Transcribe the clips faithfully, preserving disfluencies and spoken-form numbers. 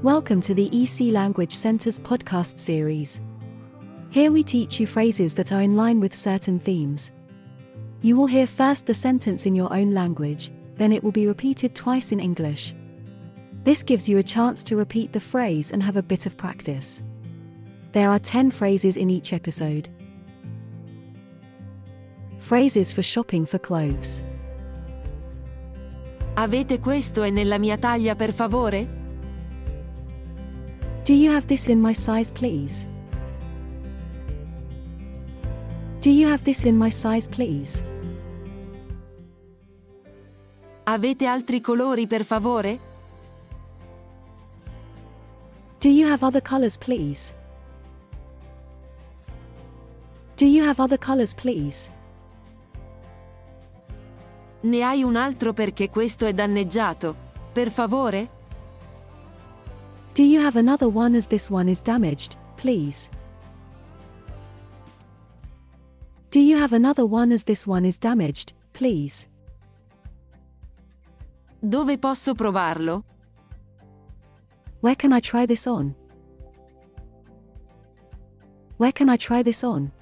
Welcome to the E C Language Center's podcast series. Here we teach you phrases that are in line with certain themes. You will hear first the sentence in your own language, then it will be repeated twice in English. This gives you a chance to repeat the phrase and have a bit of practice. There are ten phrases in each episode. Phrases for shopping for clothes. Avete questo e nella mia taglia per favore? Do you have this in my size, please? Do you have this in my size, please? Avete altri colori per favore? Do you have other colors, please? Do you have other colors, please? Ne hai un altro perché questo è danneggiato, per favore? Do you have another one as this one is damaged, please? Do you have another one as this one is damaged, please? Dove posso provarlo? Where can I try this on? Where can I try this on?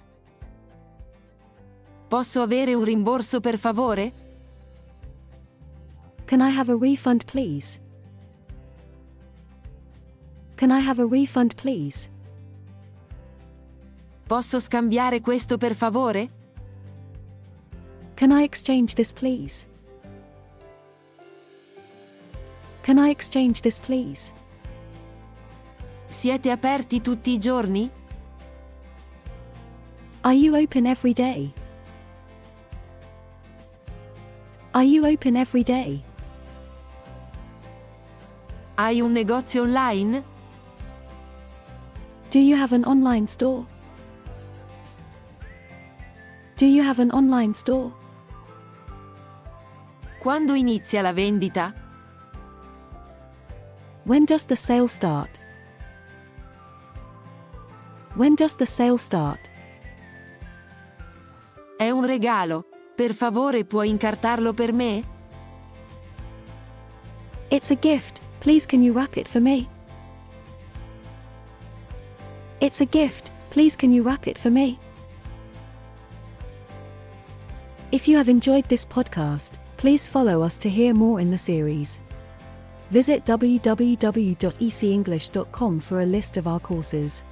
Posso avere un rimborso per favore? Can I have a refund, please? Can I have a refund, please? Posso scambiare questo per favore? Can I exchange this, please? Can I exchange this, please? Siete aperti tutti i giorni? Are you open every day? Are you open every day? Hai un negozio online? Do you have an online store? Do you have an online store? Quando inizia la vendita? When does the sale start? When does the sale start? È un regalo. Per favore puoi incartarlo per me? It's a gift. Please can you wrap it for me? It's a gift. Please can you wrap it for me? If you have enjoyed this podcast, please follow us to hear more in the series. Visit w w w dot e c english dot com for a list of our courses.